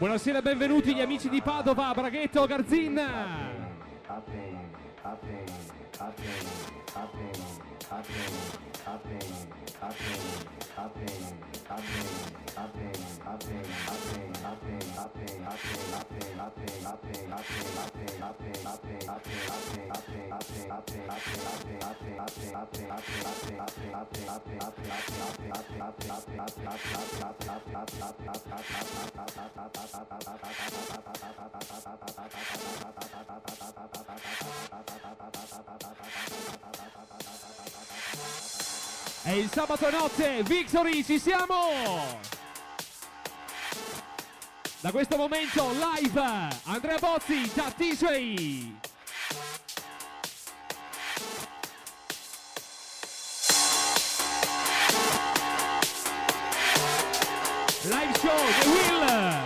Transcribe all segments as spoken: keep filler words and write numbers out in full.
Buonasera, benvenuti gli amici di Padova, Braghetto, Garzin. È il sabato notte, Victory, ci siamo! Da questo momento live, Andrea Bozzi da D J. Live show, The Will.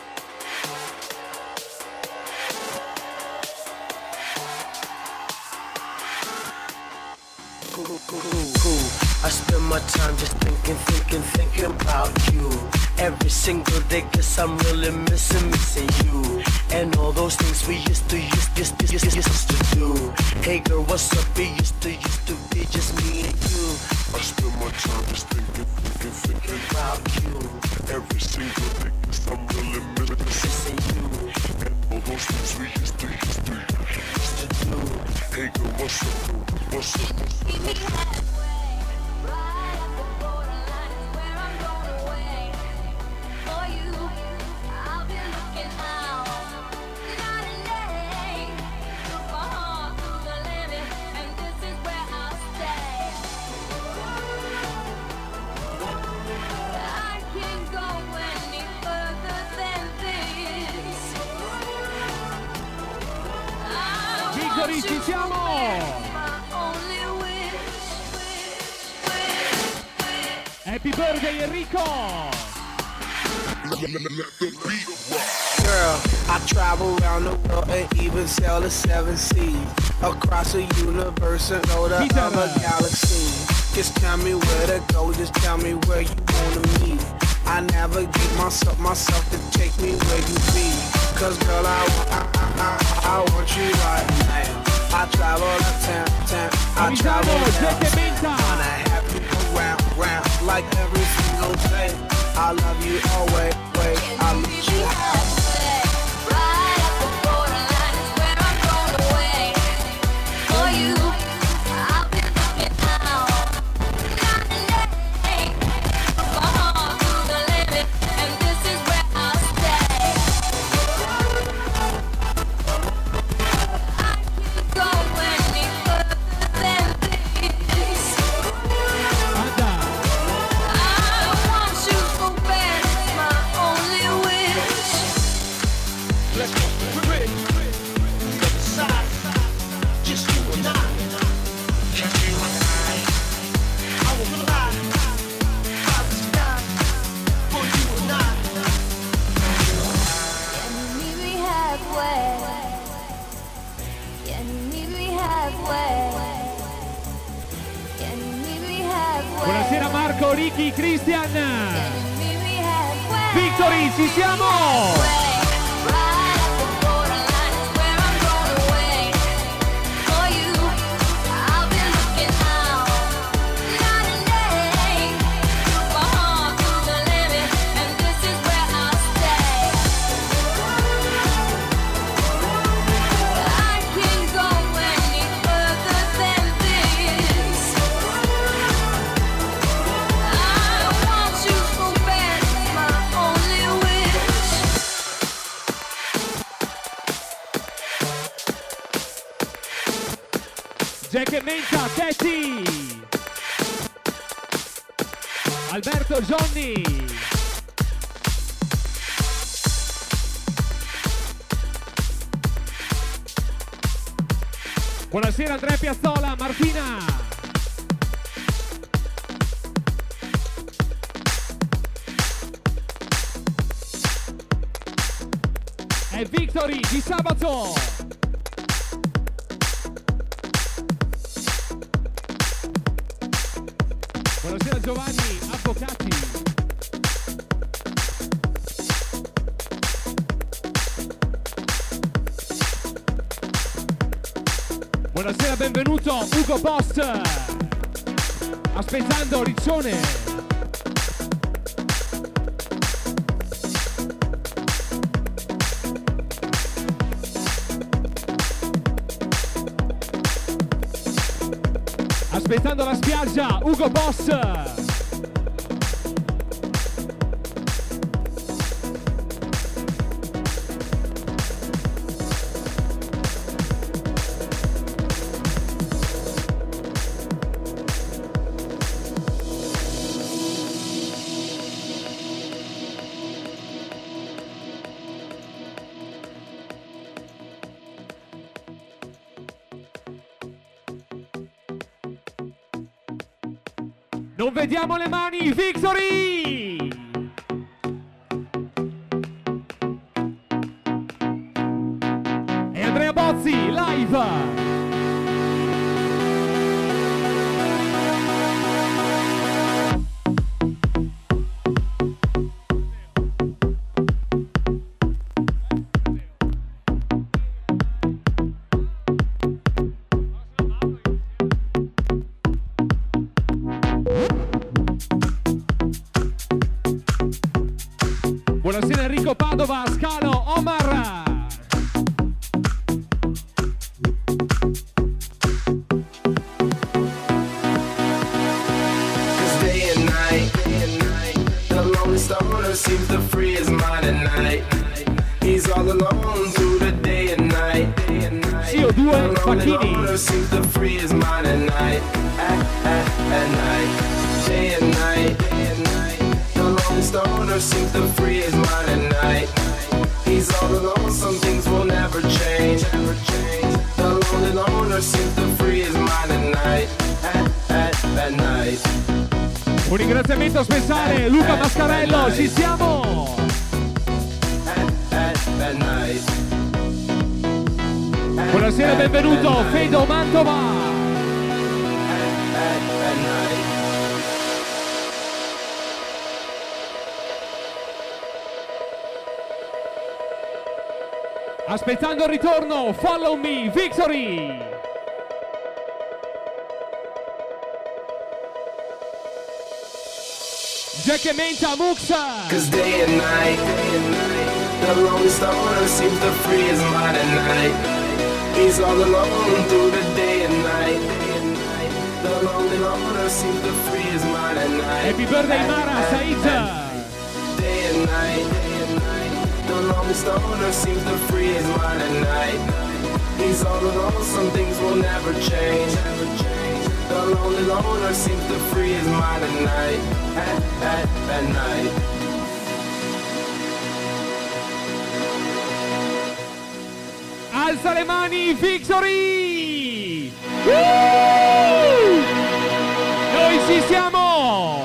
I spend my time just thinking, thinking, thinking about you. Every single day, guess I'm really missing, missing you. And all those things we used to, used, used, used, used, used to do. Hey girl, what's up? It used to, used to be just me and you. I spend my time just thinking, thinking, thinking about you. Every single day, guess I'm really missing you. And all those things we used to, used to, used to do. Hey girl, what's up? What's up? What's up? Ci siamo! Happy birthday Enrico! Girl, I travel around the world and even sail the seven seas. Across the universe and go to other galaxies. Just tell me where to go, just tell me where you wanna meet. I navigate myself, myself to take me where you be. Cause girl, I, I, I, I want you right now. I travel the town, town, I travel down, wanna have you around, round, like every single day. I love you always, wait, I need you halfway. Right at the borderline is where I'm going away. For you, I've been looking out. Night and day, my heart to the limit, and this is where I'll stay. I can't go any further than this. I want you so bad, it's my only wish. Let's go, we're ready. Other side, just you and I. Just you and I. I won't lie. I was down for you and I. Can you meet me halfway? Can you meet me halfway? Can you meet me halfway? Buonasera Marco, Ricky, Christian. Can you meet me halfway? Victory, ci siamo! Right at the borderline is where I'm going away. For you, I've been looking out. Night and day, my heart to the limit, and this is where I'll stay. I can't go any further than this. I want you so bad, it's my only wish. Jack e Menta, Tetti. Alberto, Johnny. Buonasera Andrea Piazzola, Martina. È Victory di sabato. Buonasera Giovanni, avvocati. Buonasera, benvenuto Ugo Boss. Aspettando Riccione. Aspettando la spiaggia, Ugo Boss. Non vediamo le mani, Victory! E Andrea Bozzi, live! Buonasera Enrico Padova, Scalo, Omar. Cause day and night, day and night, the lonely stoner seems to free his mind at night. He's all alone through the day and night, day and night. C O due, the lonely Facchini. loner seems to free his mind at night, at, at, at night. Day and night, day and night, the lonely stoner seems to free his mind at night. He's all alone, some things will never change, never change. The lonely loner seems to free his mind at night, at, at, at night. Un ringraziamento speciale, Luca Mascarello, ci siamo! Buonasera, benvenuto, Fedo Mantova! Aspettando il ritorno, Follow Me, Victory! Jack e Menta, Muxa! Cause day and night, day and night, the lonely stoner seems to free his mind at night. He's all alone through the day and night, day and night. The lonely loner seems to free his mind at night. Happy birthday Mara, Said! Day and night, day and night, the lonely stoner seems to free his mind at night. He's all alone, some things will never change, never change. The lonely loner seems to free his mind at night, at, at, at night. Alza le mani, Victory! Woo! Noi ci siamo!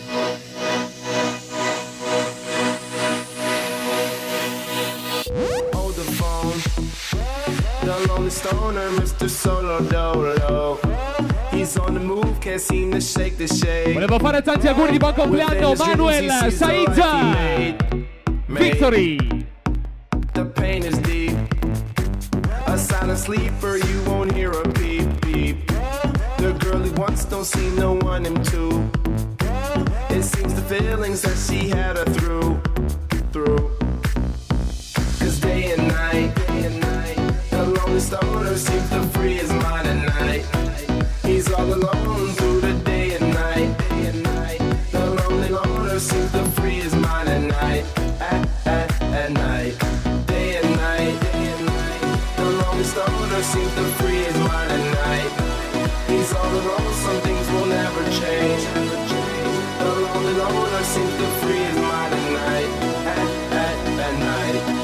Hold the phone, the lonely stoner, Mister Solo Dolo. He's on the move, can't seem to shake the shade. Volevo fare tanti auguri di buon compleanno, Manuel, Said! Victory! The pain is deep. A silent sleeper, you won't hear a beep beep. The girl he wants don't see no one him too. It seems the feelings that she had her through, through. Cause day and night, day and night, the lonely stoner seems to free his mind at night. He's all alone through the day and night, day and night. The lonely loner seems to free his mind at night, at, at, at night. Day and night, day and night, the lonely stoner seems to free his mind at night. He's all alone, some things will never change, never change. The lonely loner seems to free his mind at night, at, at, at night.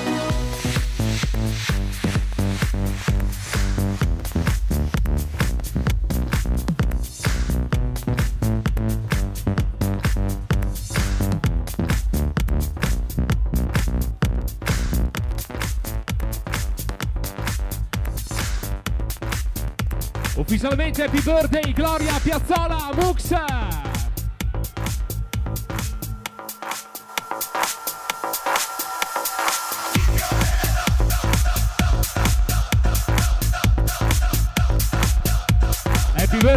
Ufficialmente happy birthday Gloria Piazzola, Muxa!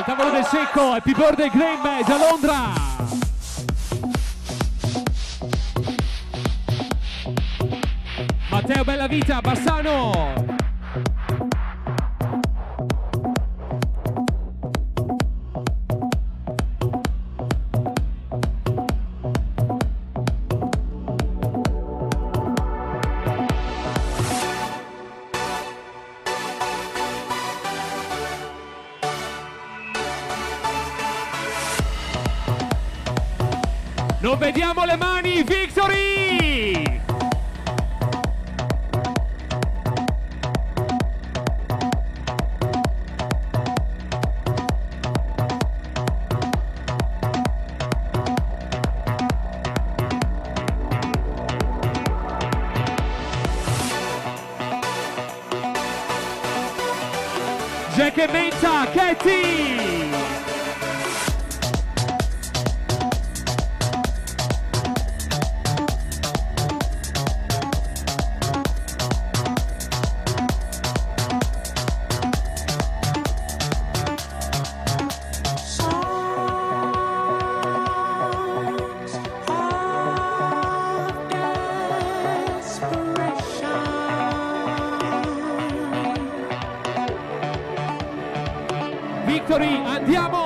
al tavolo del secco, Happy Birthday Graham da Londra. Matteo Bellavita, Bassano. Non vediamo le mani, Victory! Jack e Menta, Katie! Victory, andiamo!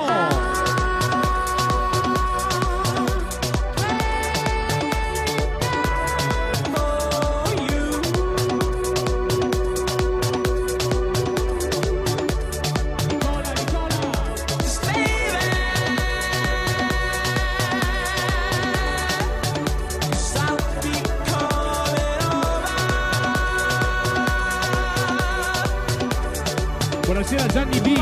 Buonasera Gianni B.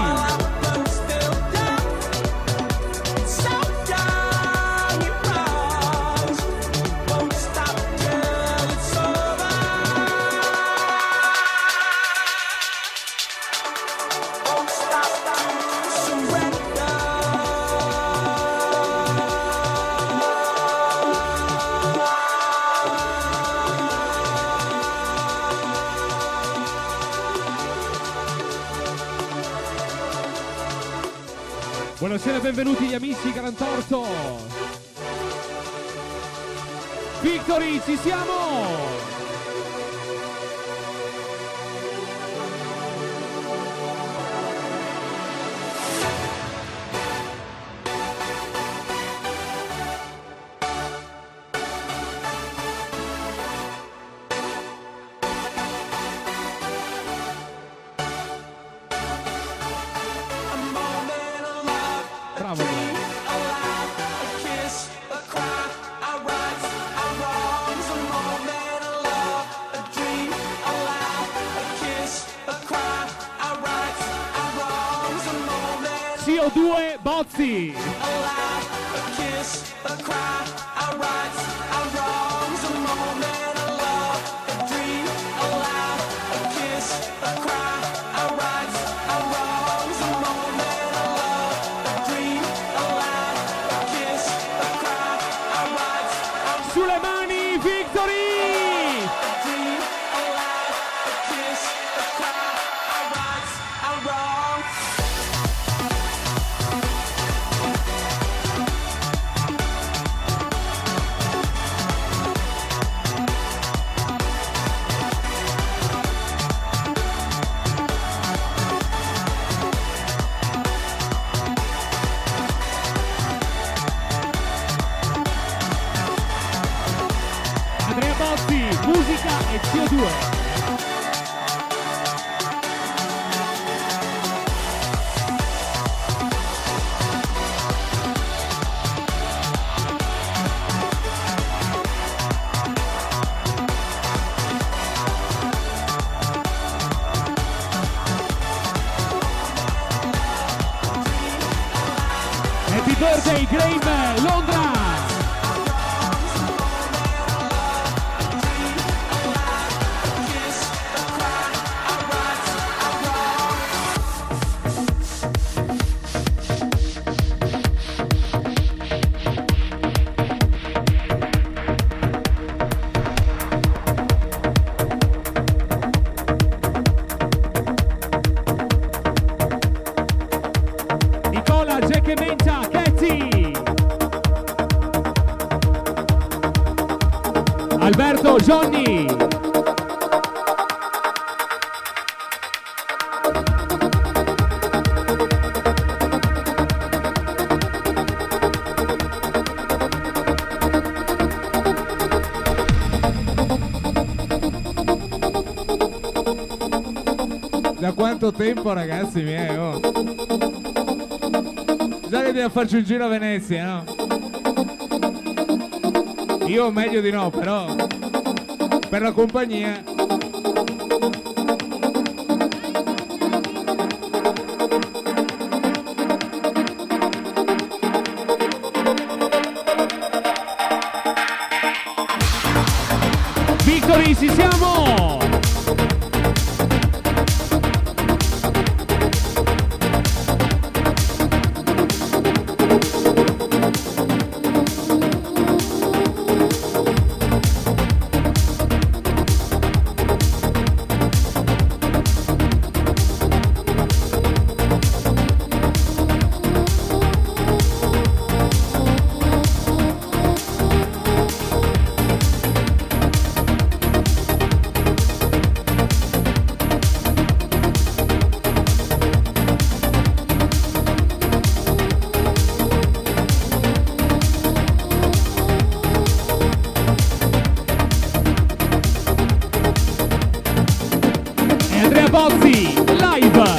Buonasera, benvenuti gli amici Garantorto. Victory, ci siamo! C O due Bozzi. Sulle mani, Victory! Musica e C O due. Happy birthday Graham, Londra! Da quanto tempo, ragazzi miei? Oh. Già che dobbiamo farci un giro a Venezia, no? Io meglio di no, però per la compagnia. Victory, ci siamo! Bozzi, live!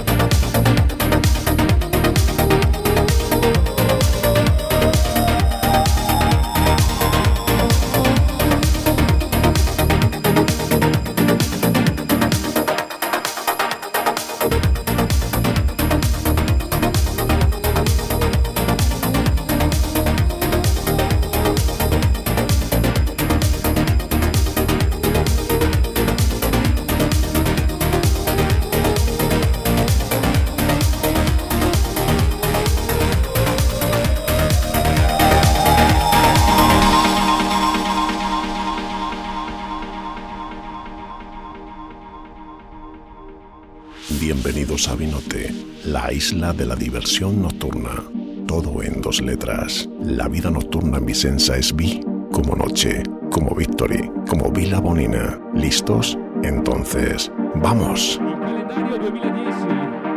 Bienvenidos a Vinote, la isla de la diversión nocturna. Todo en dos letras. La vida nocturna en Vicenza es vi como noche, como Victory, como Vila Bonina. ¿Listos? Entonces, ¡vamos! Calendario duemiladieci.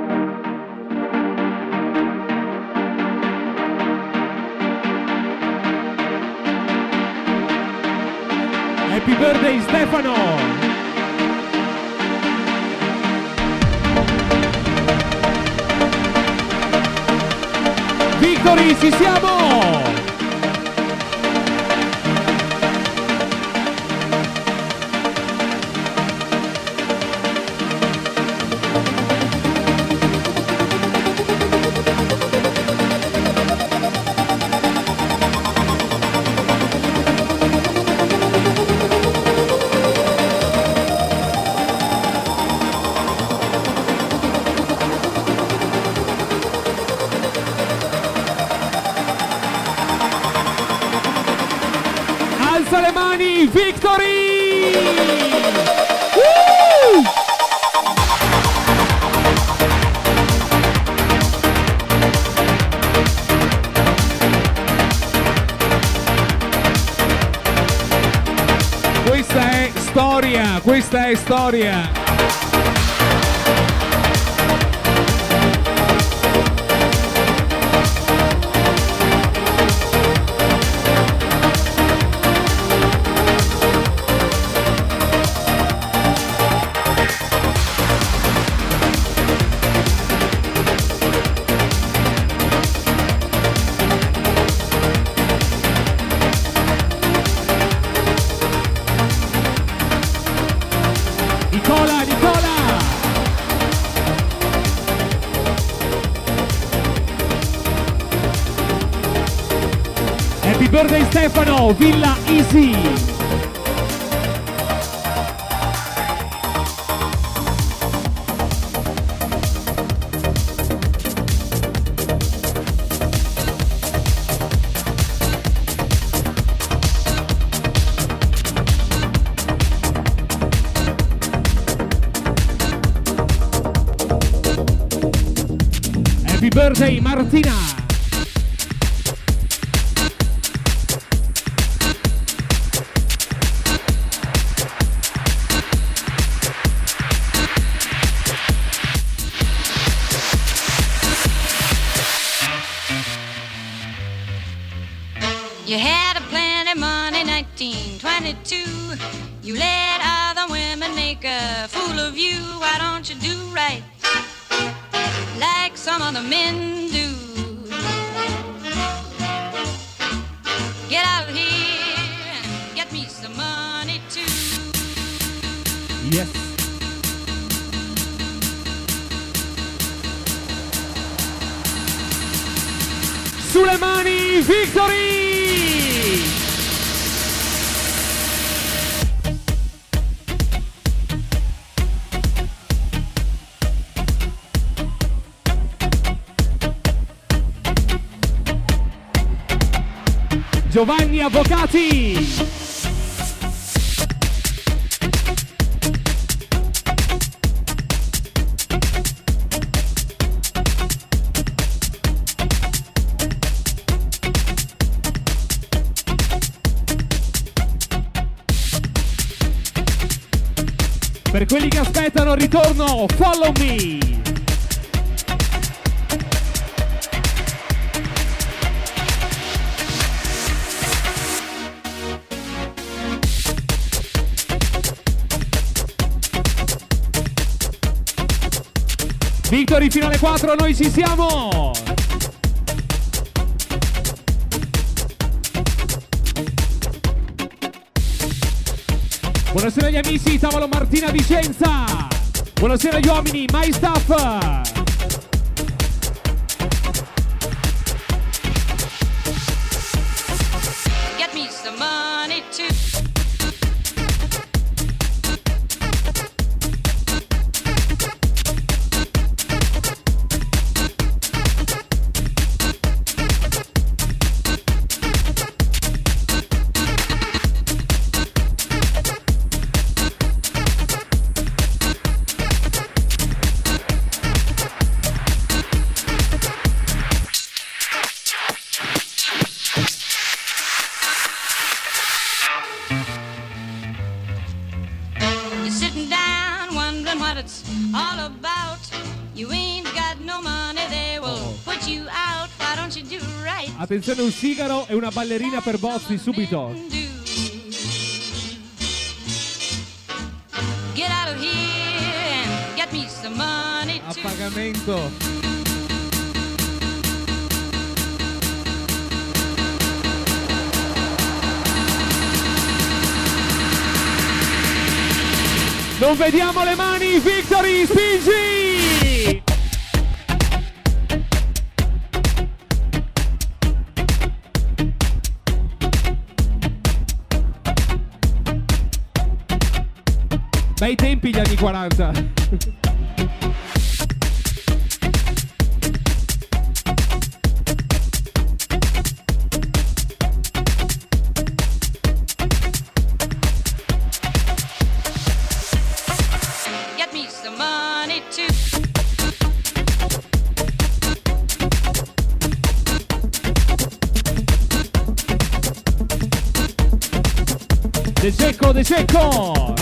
Happy birthday Stefano! Victory, ci siamo! Alza le mani, Victory! Uh! Questa è storia, questa è storia. Nicola, Nicola! Happy birthday Stefano, Villa Easy! Happy birthday Martina! You had a plenty money, nineteen twenty-two. You let other women make make a fool of you, why don't you do right like some other men do? Get out of here and get me some money too. Yes. Sulle mani, Victory! Giovanni Avvocati! Per quelli che aspettano il ritorno, Follow Me! Victory fino alle quattro, noi ci siamo! Buonasera agli amici, tavolo Martina Vicenza! Buonasera agli uomini, My Stuff! Get me some money too. Attenzione, un sigaro e una ballerina per Bozzi subito. A pagamento. Non vediamo le mani, Victory, spingi! Bei tempi gli anni quaranta. Get me some money too. De Secco, De Secco!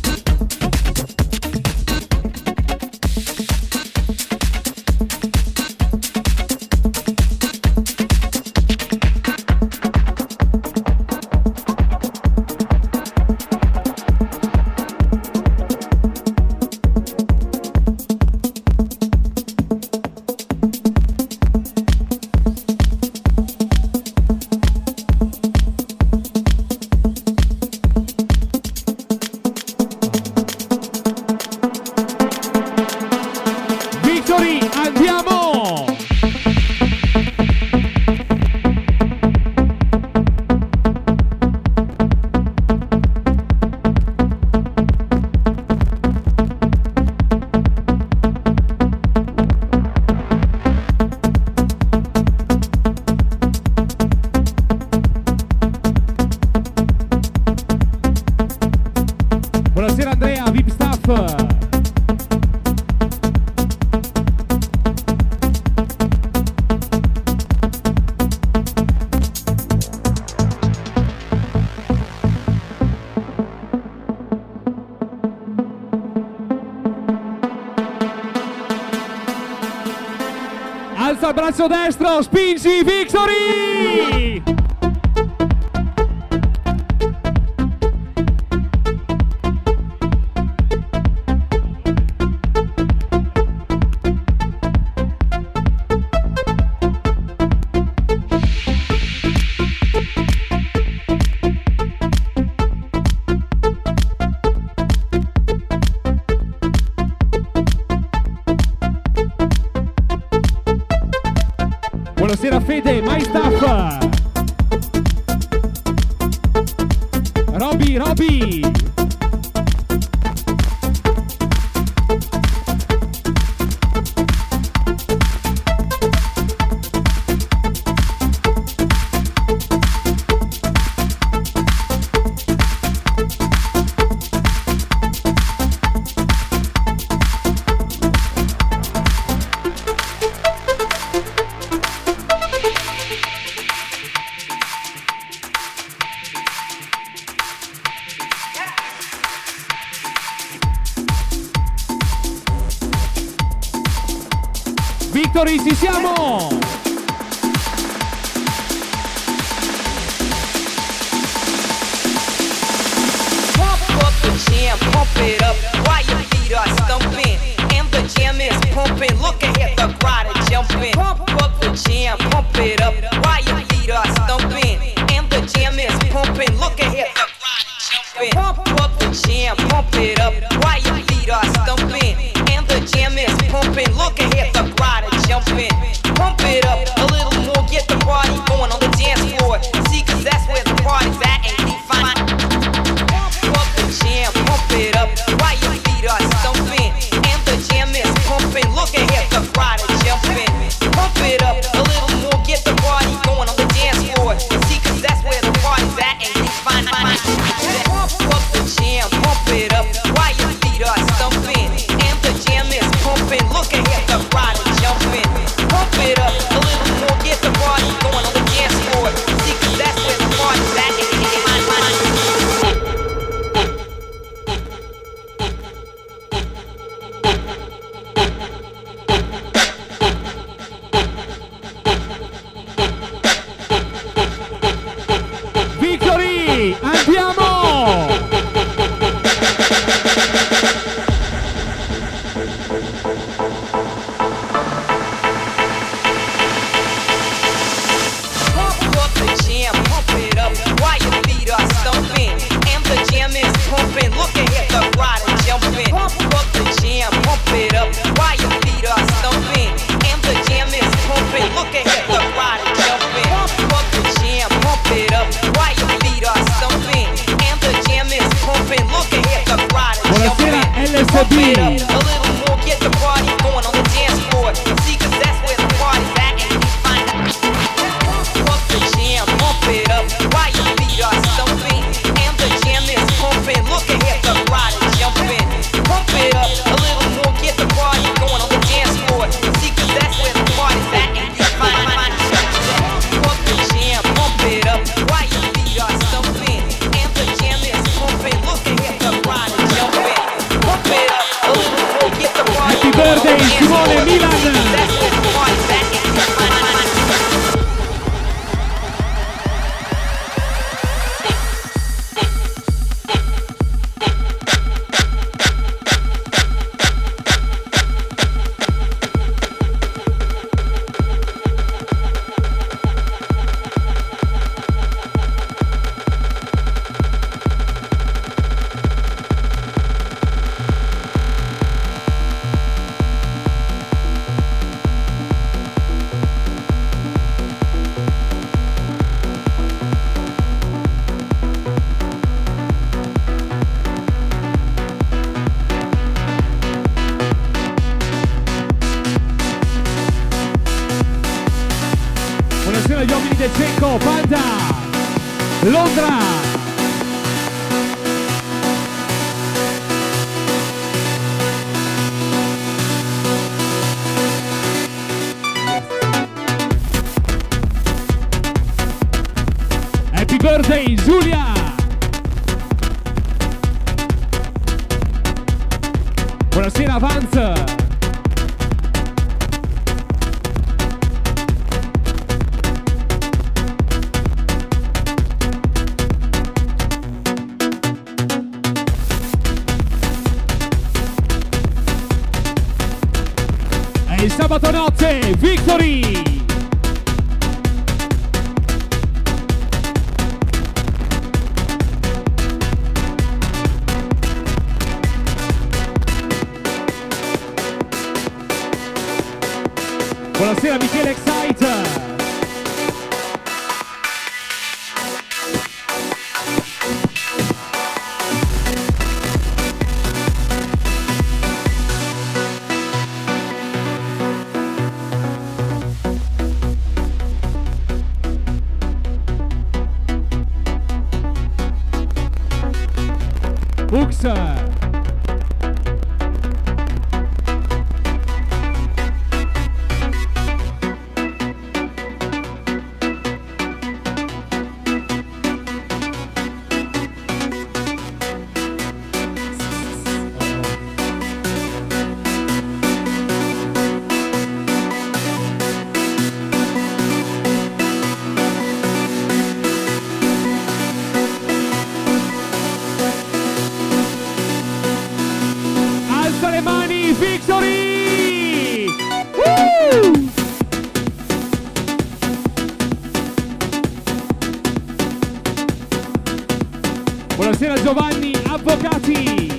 Alza il braccio destro, spingi, Victory! Fede, My Stuff. Roby, Roby. Victory, ci siamo! Pump up the jam, pump it up while your feet are stumping. And the jam is pumping, look ahead, the crowd is jumping. Pump up the jam, pump it up while your feet are stumping. And the jam is pumping, look ahead, the crowd is jumping. Pump up the jam, pump it up while your feet are stumping. And the jam is pumping, look ahead, the crowd is jumping. Pump it up a little more, get the party going on the dance floor. See, cause that's where the party's at and keep finding. Pump up the jam, pump it up while your feet are stumping. And the jam is pumping, look ahead, the crowd is jumping. Pump it up a little more, get the party going on the dance floor. See, cause that's where the party's at and keep finding. Pump up the jam, pump it up while your feet are stumping. And the jam is pumping, look ahead, the crowd is jumping. Pump it up a little more, get the party going on the dance floor. See, cause that's where the party's at and keep Victory! Andiamo! Pump up the jam, pump it up while your feet are stumping. And the jam is pumping, look ahead, the crowd is jumping. Pump up the jam, pump it up while your feet are stumping. And the jam is pumping, look ahead, the crowd is jumping. Pump up the jam, pump it up while your feet are stumping. And the jam is pumping, look ahead, the crowd is Buonasera, jumping. L S Pump B. it up a little more, get the party going on the dance floor. See, cause that's where the party's at and keep finding. Pump up the jam, pump it up while your feet are stumping. And the jam is pumping, look ahead, the crowd is jumping. Pump it up a little more, get the party going on the dance floor. See, cause that's where the party's at and keep finding. Pump the jam, pump it up while your feet are stumping. And the jam is pumping, look ahead, the crowd is jumping. Pump it up a little more, get the party Happy going on the birthday, dance Simone floor. Milan. See, cause that's where the party's at and keep finding. Buonasera agli uomini del Cecco, Panda, Londra. Happy birthday, Giulia. Buonasera, Vance. E il sabato notte, Victory! Buonasera Michele Excite! Victory! Woo! Buonasera Giovanni, avvocati!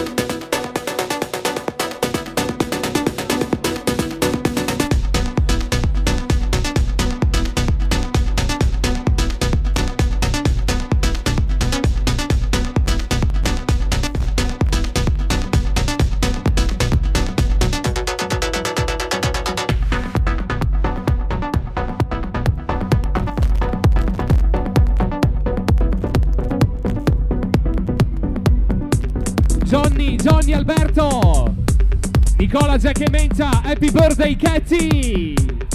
Johnny, Johnny Alberto, Nicola Jack e Menta, happy birthday Katy!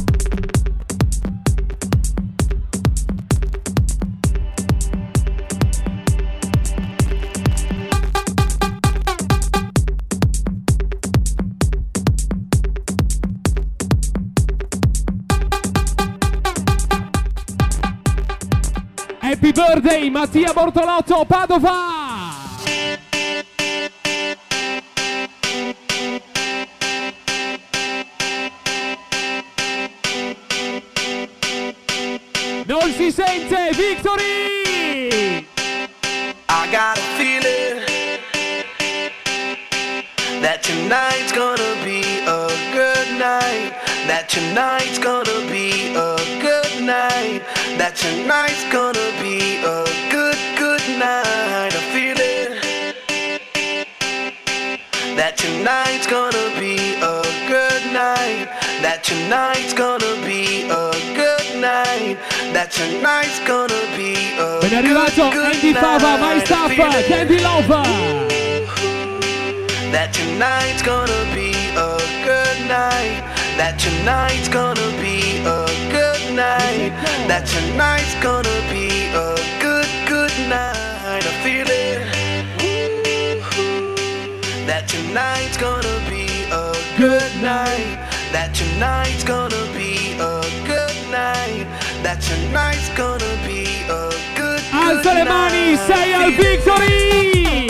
Happy birthday Mattia Bortolotto, Padova! Non si sente, Victory! I got a feeling that tonight's gonna be a good night. That tonight's gonna be a good night. That tonight's gonna be a good, good night. A feeling that tonight's gonna be a good night. That tonight's gonna be a good night. That tonight's gonna be a Ben arrivato Andy Fava, My Stuff, Candy Love. That tonight's gonna be a good night. That tonight's gonna be a good night. That tonight's gonna be a good, good night. I feel it. That tonight's gonna be a good night. That tonight's gonna be a good night. That tonight's gonna be a good, good Alza le mani, sei al Victory!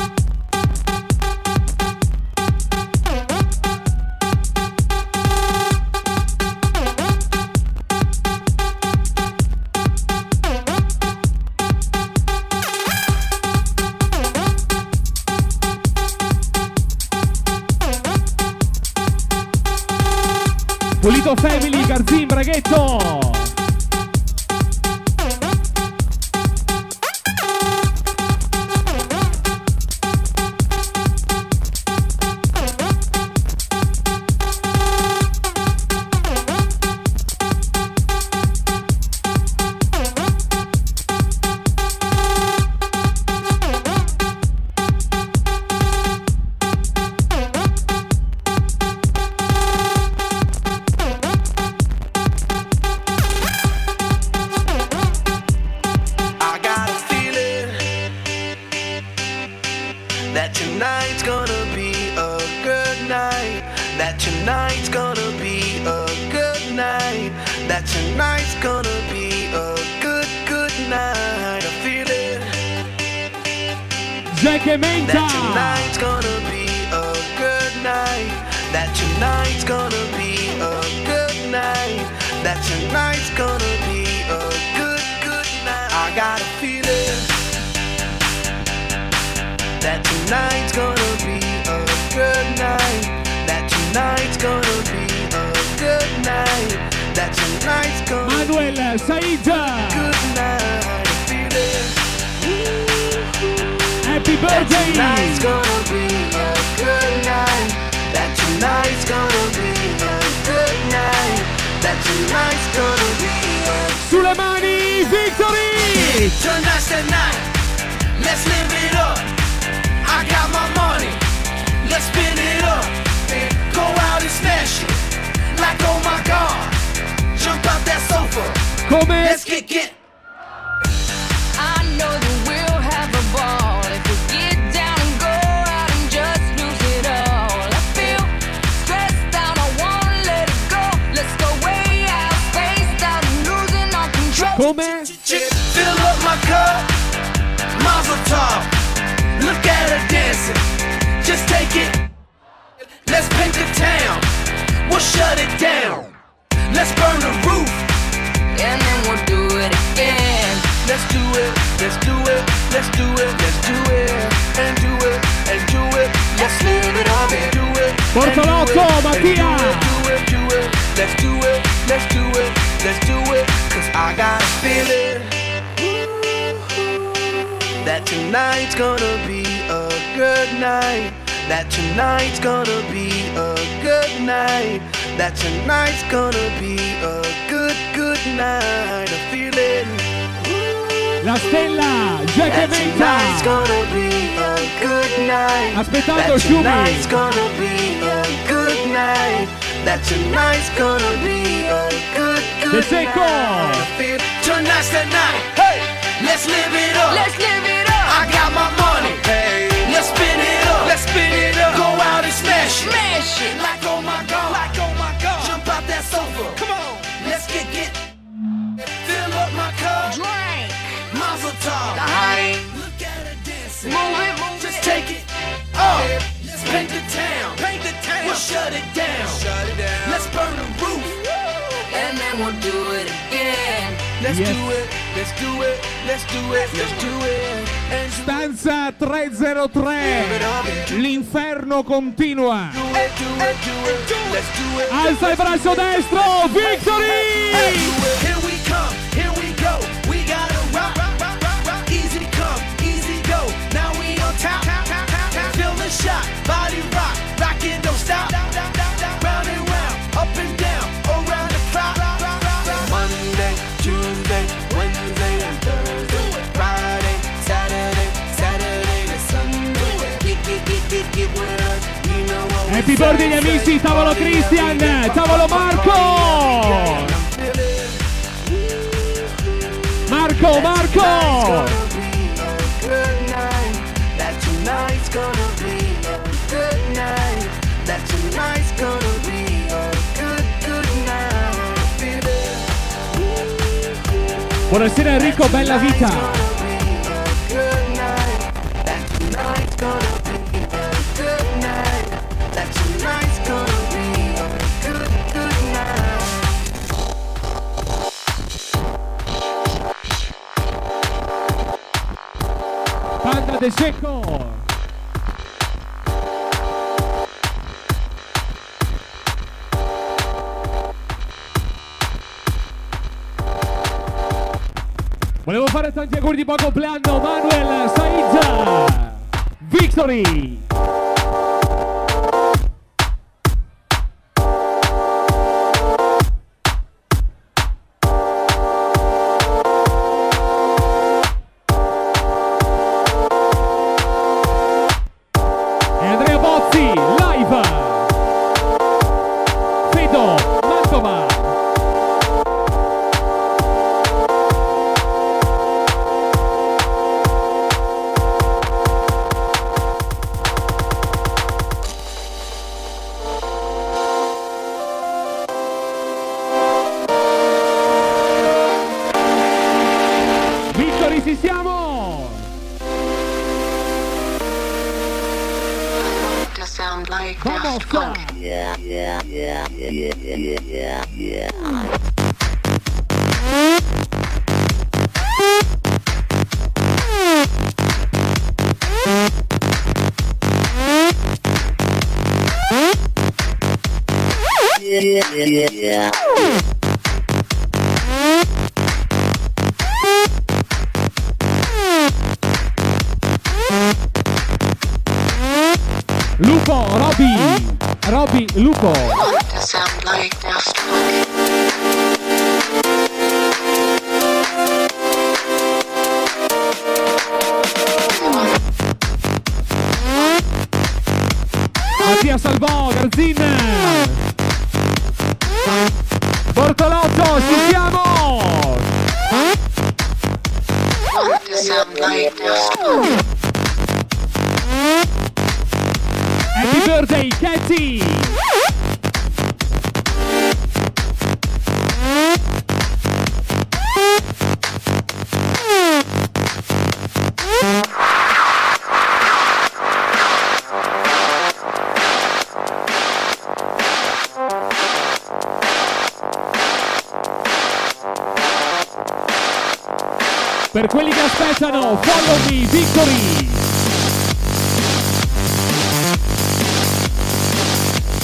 Pulito Family, Garzin, Braghetto! That tonight's gonna be a good night. That tonight's gonna be a good night. That tonight's gonna be a good, good night. I feel it. Jack e Menta. That tonight's gonna be a good night. That tonight's gonna be a good night. That tonight's gonna be a good, good night. I got a feeling that tonight's gonna be a good night. That tonight's gonna be a good night. That tonight's gonna Manuel be a Said. good night. I feel it. Happy That birthday! tonight's gonna be a good night. That tonight's gonna be a good night. That tonight's gonna be a Sulle mani, Victory! Tonight's the night, let's live it up. I got my money, let's spin it up. Go out and smash it, like oh my god. Jump out that sofa, Come? let's get get. I know that we'll have a ball if we get down and go out and just lose it all. I feel stressed out, I wanna let it go. Let's go way out, spaced out and losing all control. Come? Fill up my cup, Mazel tov. Look at her dancing, just take it. Let's paint Bortolotto, Mattia. Let's do it, let's do it, let's do it, cause I got a feeling that tonight's gonna be a good night. That tonight's gonna be a good night. That tonight's gonna be a good, good night. A feeling La stella, Jack that Menta. tonight's gonna be a good night. Aspettando That Shumi. tonight's gonna be a good night. That tonight's gonna be a good, De good Secco. night. I feel tonight's the night. Hey, let's live it up. Let's live it up. I got my money. Hey, let's spin it up. Let's spin it up. Go out and smash it. Smash it. Like oh my god. Like oh my god. Jump out that sofa. Come on. Let's get get. Fill up my cup. Drink. Mazel tov. The honey. Look at her dancing. Move it, move Just it. take it. Oh, let's paint the town. Paint the town. We'll shut it down. Shut it down. Let's burn the roof. And then we'll do it again. Let's Yes. do it. Let's do it. Let's do it. Let's do it. And do Stanza trecentotre. L'inferno continua. it. Do it. Do it. Do it. Let's do it. Alza il braccio destro, Victory! Here we come, here we go. We gotta rock, rock, rock, rock, rock. Easy come, easy go. Now we on top. Feel the shot, body rock, rock it, don't stop. Round and round, up and down, around the clock. Monday, Tuesday, Wednesday, and Thursday. Friday, Saturday, Saturday to Sunday. Get, get, get, get, get with us. You know what we Happy birthday gli amici, tavolo Christian, tavolo Marco! Marco, Marco! Buonasera Enrico, bella vita! Panda De Secco! Volevo fare tanti auguri di buon compleanno, Manuel, Said, Victory! E Andrea Bozzi, live! Fedo, Mantova! Victory, ci siamo! To sound like Vamos! Daft Punk. Lupo, Roby! Roby, Lupo! To sound like Daft Punk. Mattia Salvò, Garzin! Bortolotto, ci siamo! To sound like Daft Punk. Happy birthday, Katy! Per quelli che aspettano, follow me, Victory!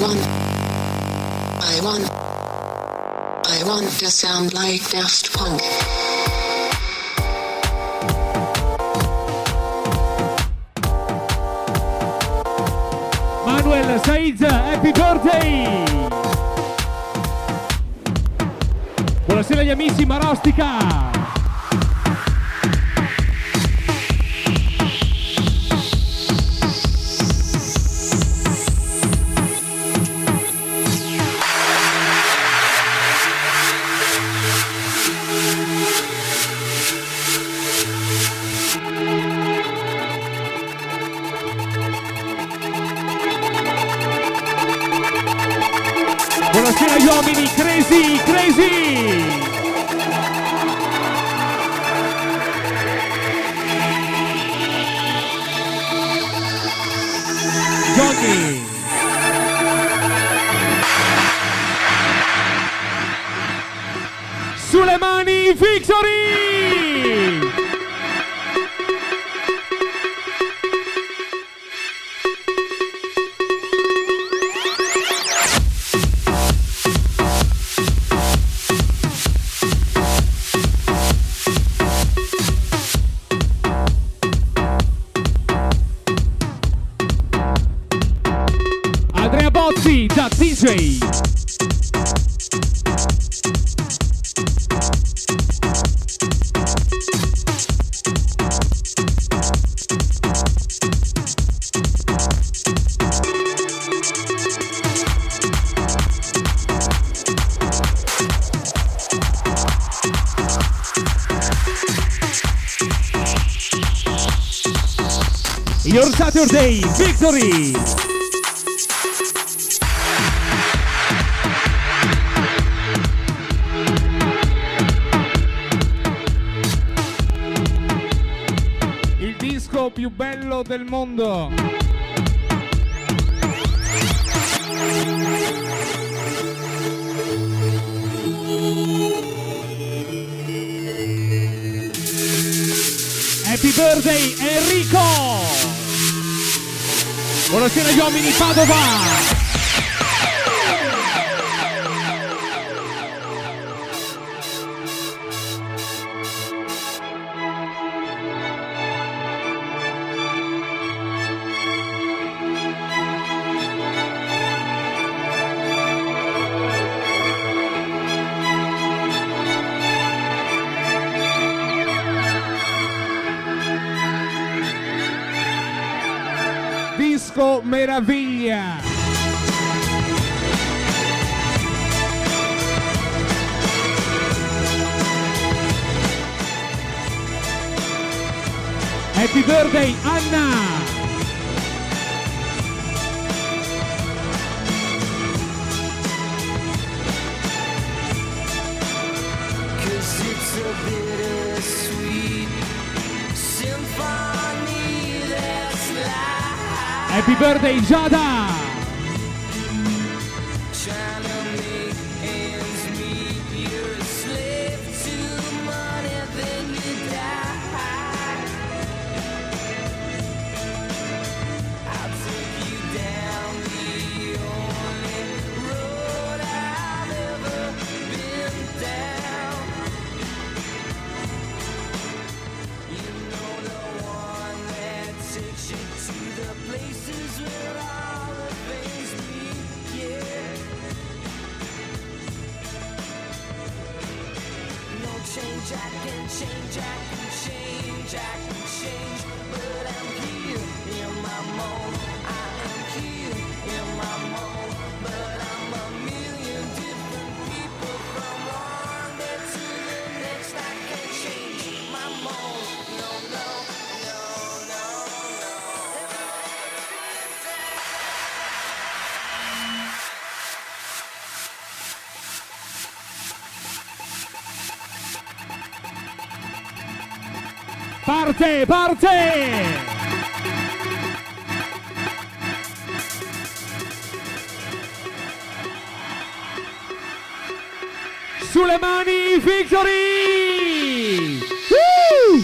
want, I want, I want to sound like Daft Punk. Manuel Saiz, happy birthday! Buonasera agli amici Marostica! Buonasera agli uomini, crazy, crazy! Johnny! Sulle mani, Victory! Da D J Your Saturday Victory. Più bello del mondo. Happy birthday Enrico. Buonasera agli uomini Padova. Disco Meraviglia. Happy birthday Anna. Happy birthday Giada! Parte, parte! Sulle mani, Victory! Woo!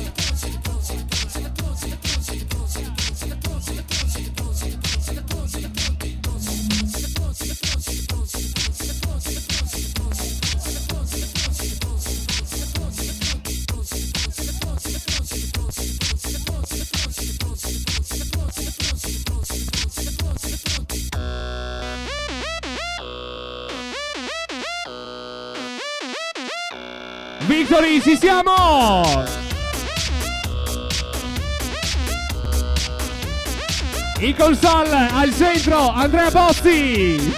pronti, Victory, ci siamo! In console, al centro, Andrea Bozzi!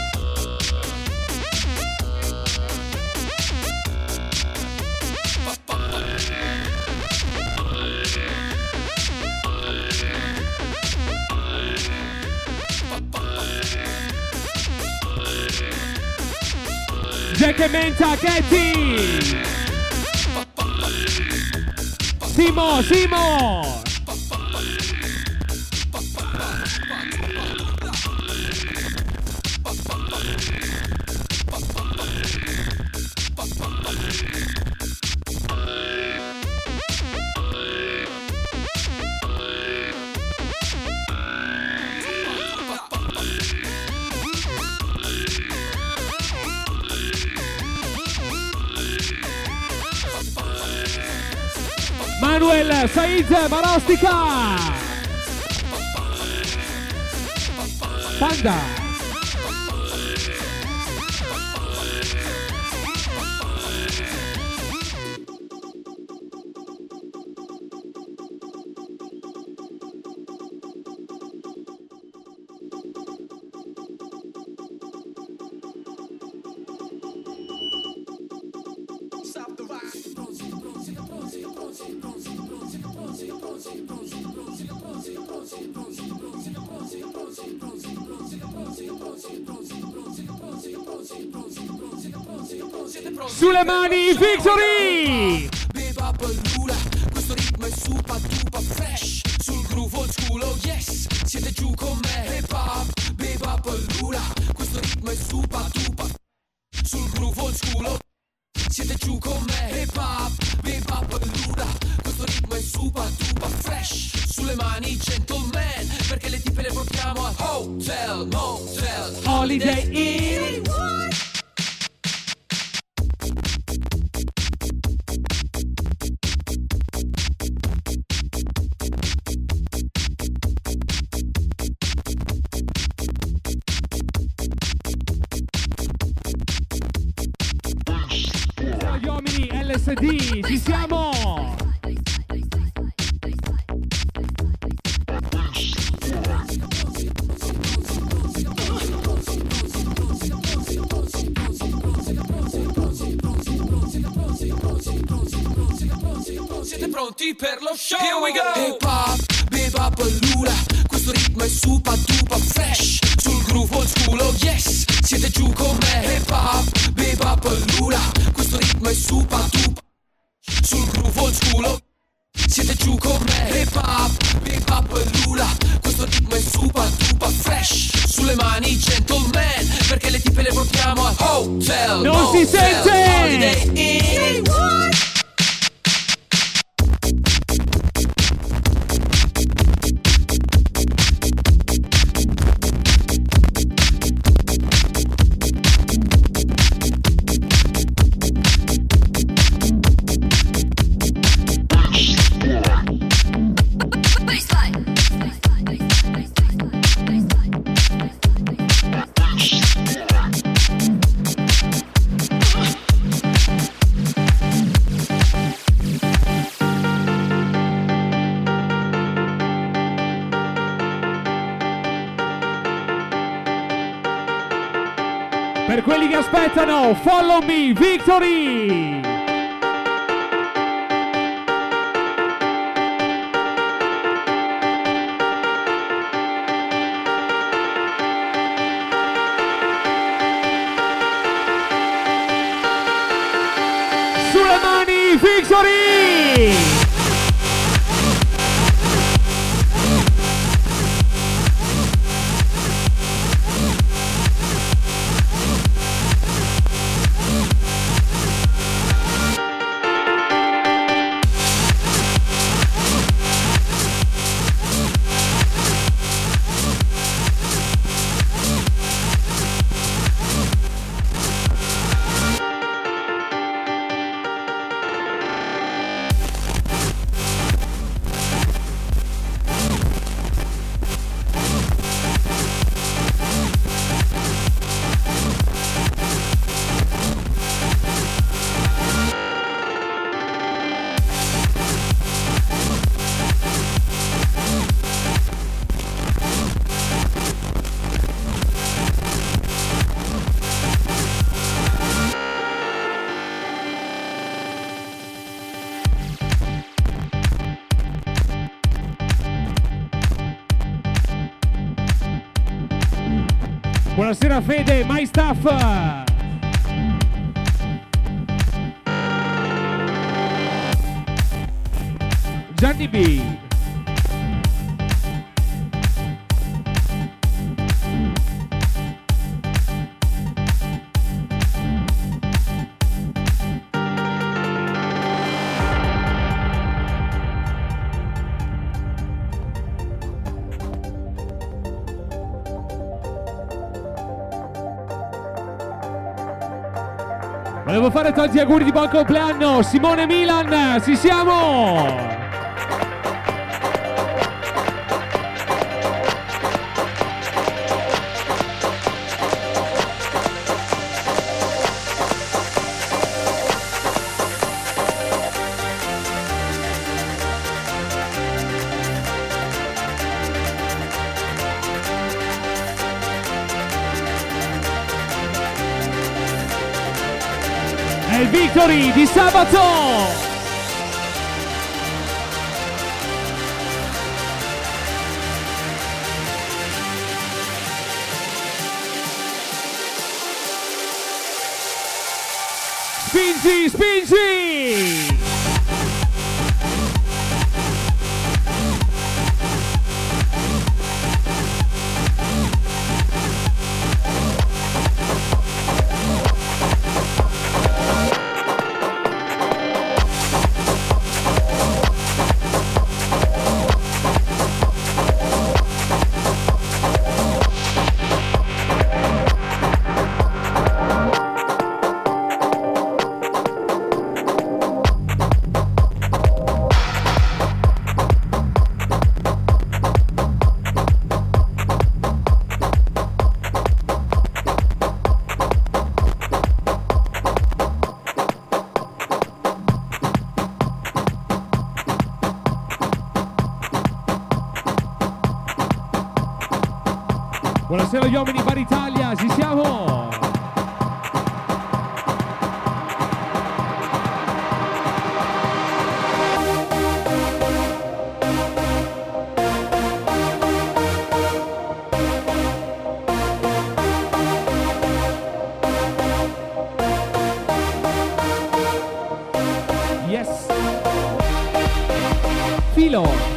Jack e Menta, Katie! Simo, Simo! Manuel, Saiz, Marostica! Panda! Sulle mani, Victory! Beba bellura, questo ritmo è super duper fresh. Sul groove old school, oh yes, siete giù con me. Hip hop, beba bellura, questo ritmo è super duper. Sul groove old school, oh, siete giù con me. Hip hop, beba bellura, questo ritmo è super duper fresh. Sulle mani, gentleman, perché le tipe le portiamo al hotel, motel, Holiday Inn. Gli uomini L S D, ci siamo! Siete pronti per lo show? Here we go! Hip hop, beba bellura, questo ritmo è super duper fresh. Sul groove old school, oh yes, siete giù con me. Hip hop, beba bellura, questo ritmo è super duper. Sul groove old school, oh, siete giù con me. Hip hop, beba bellura, questo ritmo è super duper fresh. Sulle mani, gentleman, perché le tipe le portiamo al hotel. Non motel, si sente! Holiday Inn. Per quelli che aspettano, follow me, Victory! Sulle mani, Victory! Buonasera Fede, My Stuff. Gianni B. Volevo fare tanti auguri di buon compleanno, Simone Milan, ci siamo! È il Victory di sabato! Spingi, spingi! Buonasera gli uomini Bar Italia, ci siamo! Yes! Filo!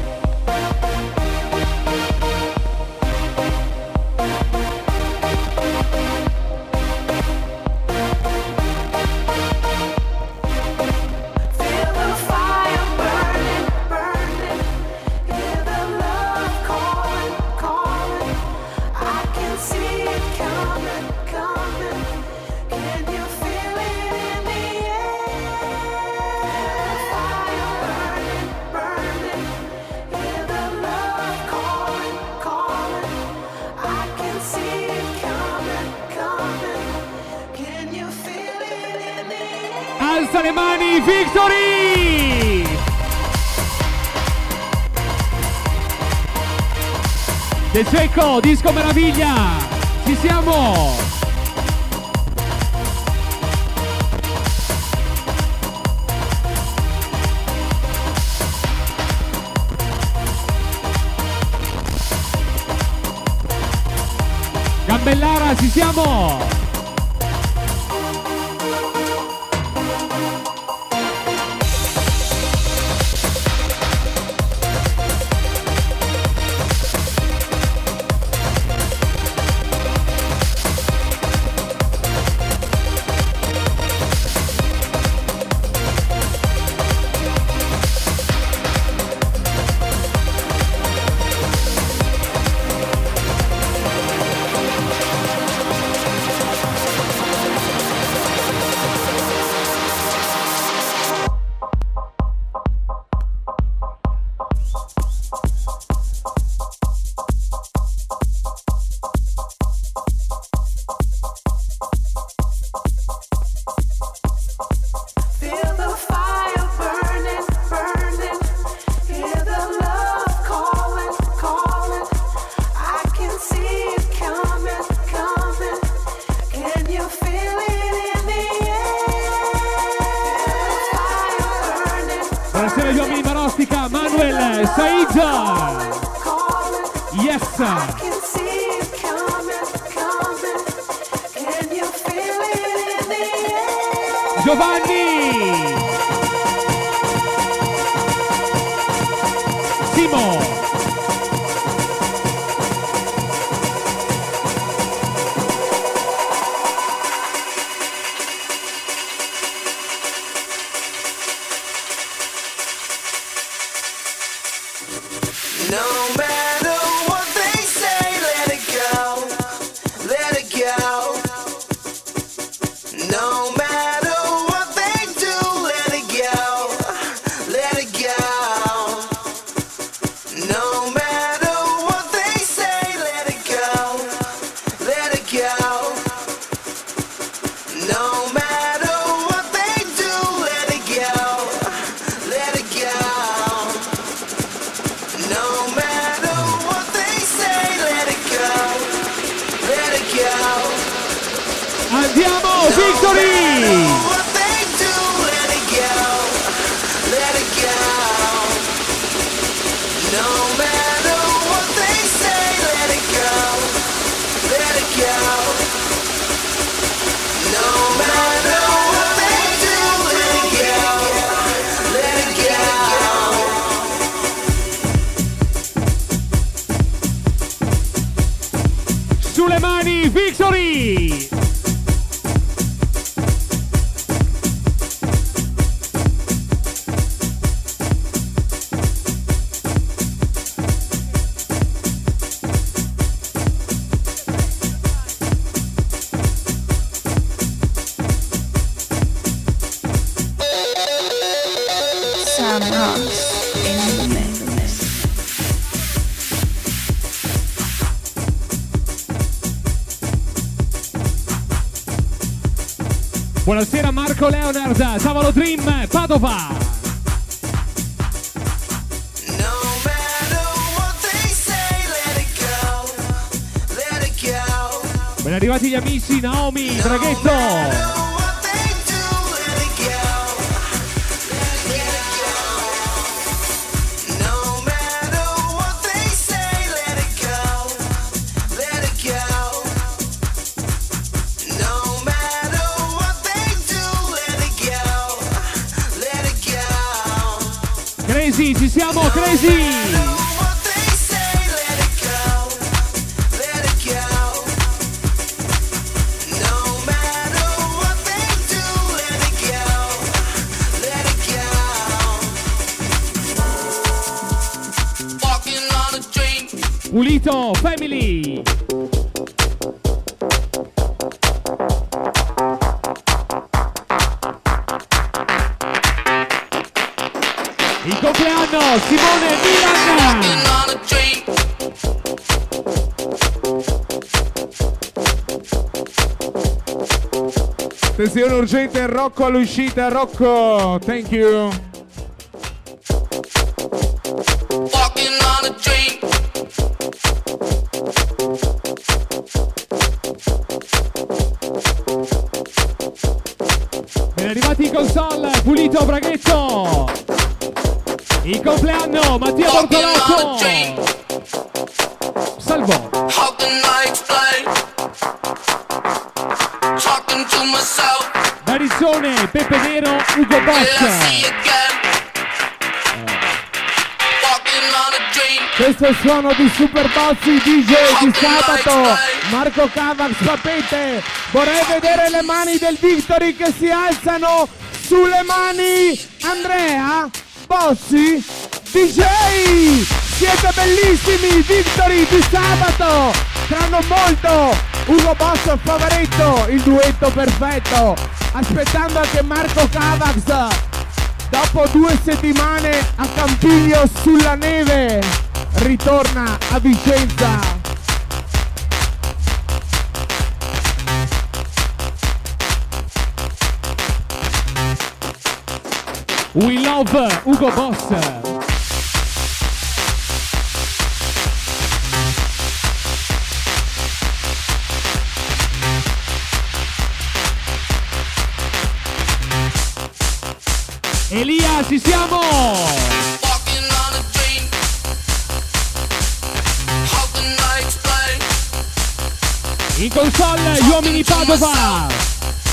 Alza le mani, Victory! De Cecco, Disco Meraviglia, ci siamo! Gambellara, ci siamo! Buonasera gli uomini Marostica, Manuel, Said. Yes. Giovanni, Simo, No matter what they say, let it go, let it go. No matter what they do, let it go, let it go. No matter what they say, let it go, let it go. No matter what they do, let it go, let it go. No matter what they say, let it go, let it go. Andiamo, Victory! What they do, let it go, let it go. No matter what they say, let it go, let it go. No matter what they do, let it go, let it go. Sulle mani, Victory! Sam Ross in the mix. Buonasera Marco Leonard, Tavolo Dream, Padova. No matter what they say, let it go, let it go. Ben arrivati gli amici Naomi, Draghetto. Crazy, ci siamo, Crazy! Pulito, Family! Il compleanno, Simone Milan! Attenzione urgente, Rocco all'uscita, Rocco, thank you. Ben arrivati in console, Pulito, Braghetto! Il compleanno, Mattia Bortolotto! Salvo! Barizzone, Peppe Nero, Ugo Boss! Questo è il suono di Super Bozzi D J di sabato. Marco Cavax, sapete, vorrei vedere le mani del Victory che si alzano sulle mani. Andrea, Bozzi, D J, siete bellissimi. Victory di sabato, tra non molto Ugo Boss Favaretto, il duetto perfetto. Aspettando anche Marco Cavax dopo due settimane a Campiglio sulla neve, ritorna a Vicenza. We love Ugo Boss. Elia, ci siamo! In console, gli uomini Padova!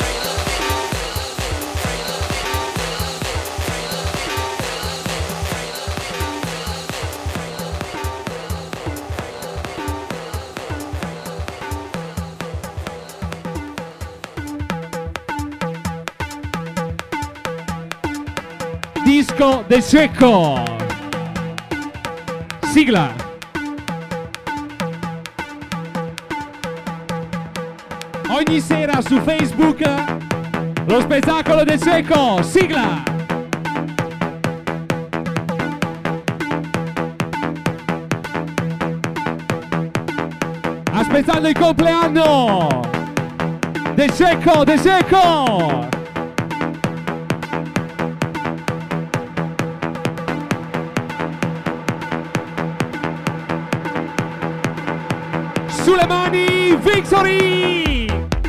Disco De Cecco. Sigla. Ogni sera su Facebook lo spettacolo De Cecco. Sigla. Aspettando il compleanno. De Cecco, De Cecco. Sulle mani, Victory!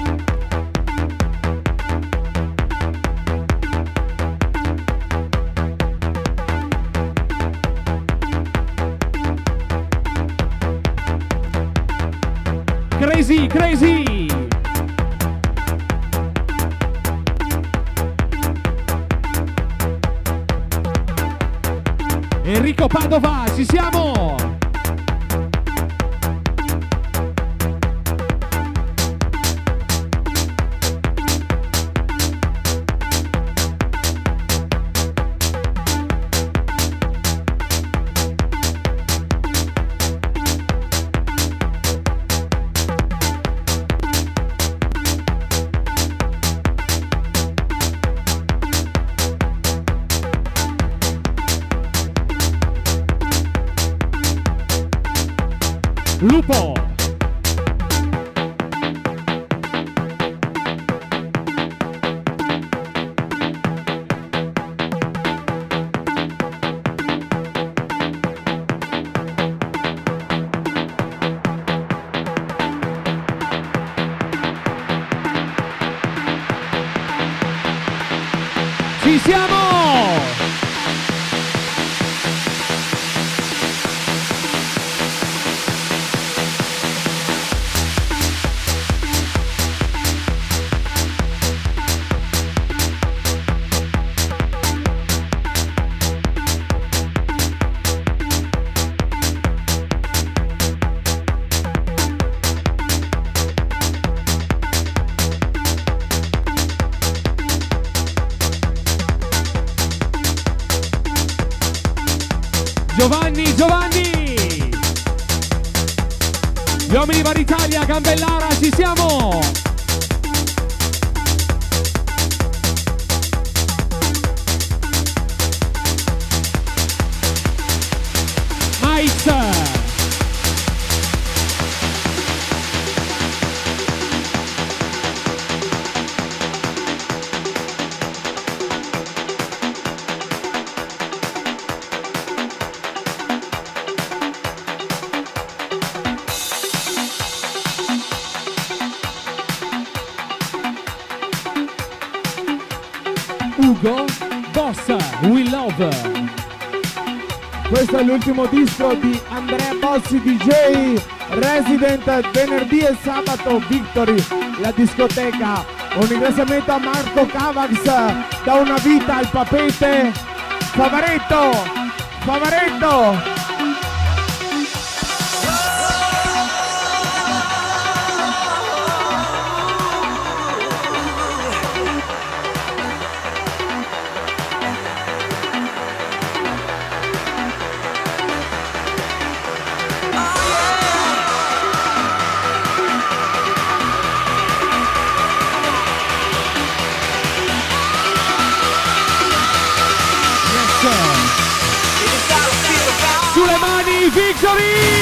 Crazy, crazy! Enrico Padova, ci siamo! Lupo. Ci siamo! Giovanni, Giovanni! Gli uomini Bar Italia, Gambellara, ci siamo! Mike! Ugo Boss, We Love. Questo è l'ultimo disco di Andrea Bossi D J, resident venerdì e sabato Victory, la discoteca. Un ringraziamento a Marco Cavax, da una vita al papete. Favaretto, Favaretto. Sulle mani, Victory!